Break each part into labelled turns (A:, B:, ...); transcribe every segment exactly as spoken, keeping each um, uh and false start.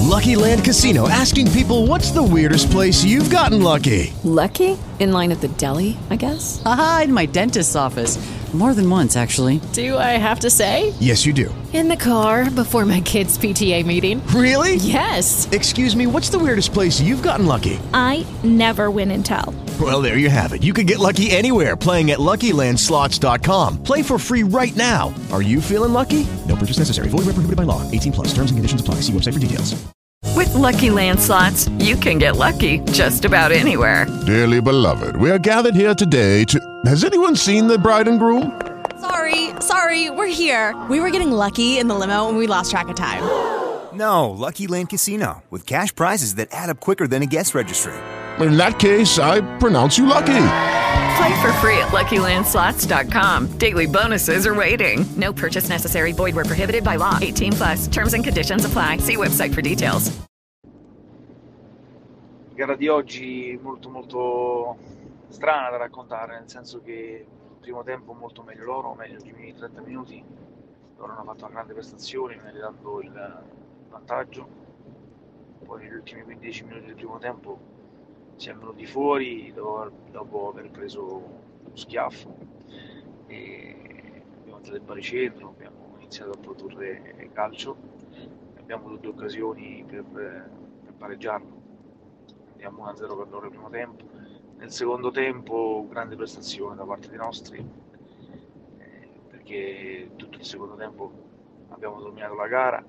A: Lucky Land Casino, asking people, what's the weirdest place you've gotten lucky?
B: Lucky? In line at the deli, I guess?
C: Aha, in my dentist's office. More than once, actually.
B: Do I have to say?
A: Yes, you do.
B: In the car before my kids' P T A meeting.
A: Really?
B: Yes.
A: Excuse me, what's the weirdest place you've gotten lucky?
D: I never win and tell.
A: Well, there you have it. You can get lucky anywhere, playing at Lucky Land Slots dot com. Play for free right now. Are you feeling lucky? No purchase necessary. Void where prohibited by law. eighteen plus. Terms and conditions apply. See website for details.
E: With Lucky Land Slots, you can get lucky just about anywhere.
F: Dearly beloved, we are gathered here today to... Has anyone seen the bride and groom?
G: Sorry, sorry, we're here. We were getting lucky in the limo and we lost track of time.
H: No, Lucky Land Casino, with cash prizes that add up quicker than a guest registry.
F: In that case, I pronounce you lucky.
E: Play for free at Lucky Land Slots dot com. Daily bonuses are waiting. No purchase necessary. Void where prohibited by law. eighteen plus. Terms and conditions apply. See website for details.
I: La gara di oggi molto molto strana da raccontare, nel senso che il primo tempo molto meglio loro, meglio i primi trenta minuti. Loro hanno fatto una grande prestazione, meritando il vantaggio. Poi negli ultimi quindici minuti del primo tempo siamo venuti fuori dopo, dopo aver preso uno schiaffo e abbiamo fatto del baricentro, abbiamo iniziato a produrre calcio, abbiamo avuto due occasioni per, per pareggiarlo. Andiamo uno a zero per loro il primo tempo. Nel secondo tempo grande prestazione da parte dei nostri, eh, perché tutto il secondo tempo abbiamo dominato la gara,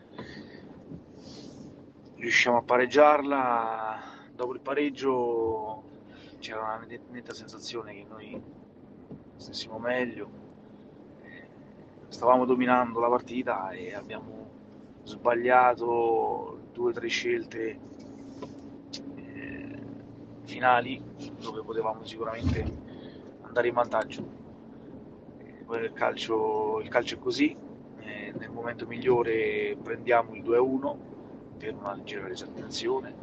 I: riusciamo a pareggiarla. Dopo il pareggio c'era una netta sensazione che noi stessimo meglio, eh, stavamo dominando la partita e abbiamo sbagliato due o tre scelte eh, finali dove potevamo sicuramente andare in vantaggio. Eh, poi il calcio, il calcio è così, eh, nel momento migliore prendiamo il due a uno per una leggera disattenzione.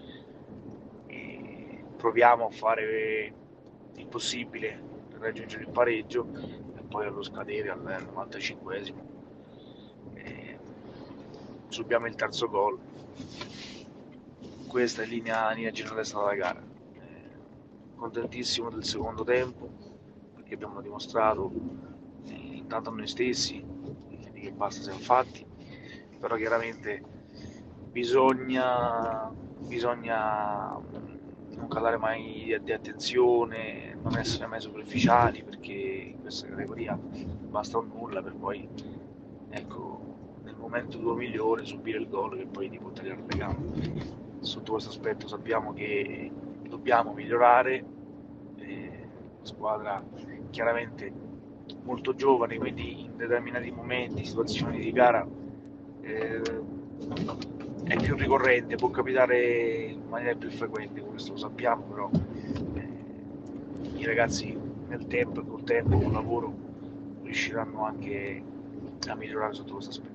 I: Proviamo a fare il possibile per raggiungere il pareggio e poi allo scadere al novantacinquesimo eh, subiamo il terzo gol. Questa è linea, linea generale è stata la gara. Eh, contentissimo del secondo tempo perché abbiamo dimostrato eh, intanto a noi stessi eh, che basta siamo fatti, però chiaramente bisogna bisogna non calare mai di, di attenzione, non essere mai superficiali, perché in questa categoria basta un nulla per poi, ecco, nel momento tuo migliore subire il gol che poi ti può tagliare le gambe. Sotto questo aspetto sappiamo che dobbiamo migliorare, eh, la squadra chiaramente molto giovane, quindi in determinati momenti, situazioni di gara eh, è più ricorrente, può capitare in maniera più frequente, questo lo sappiamo, però eh, i ragazzi nel tempo e col tempo, col lavoro, riusciranno anche a migliorare sotto questo aspetto.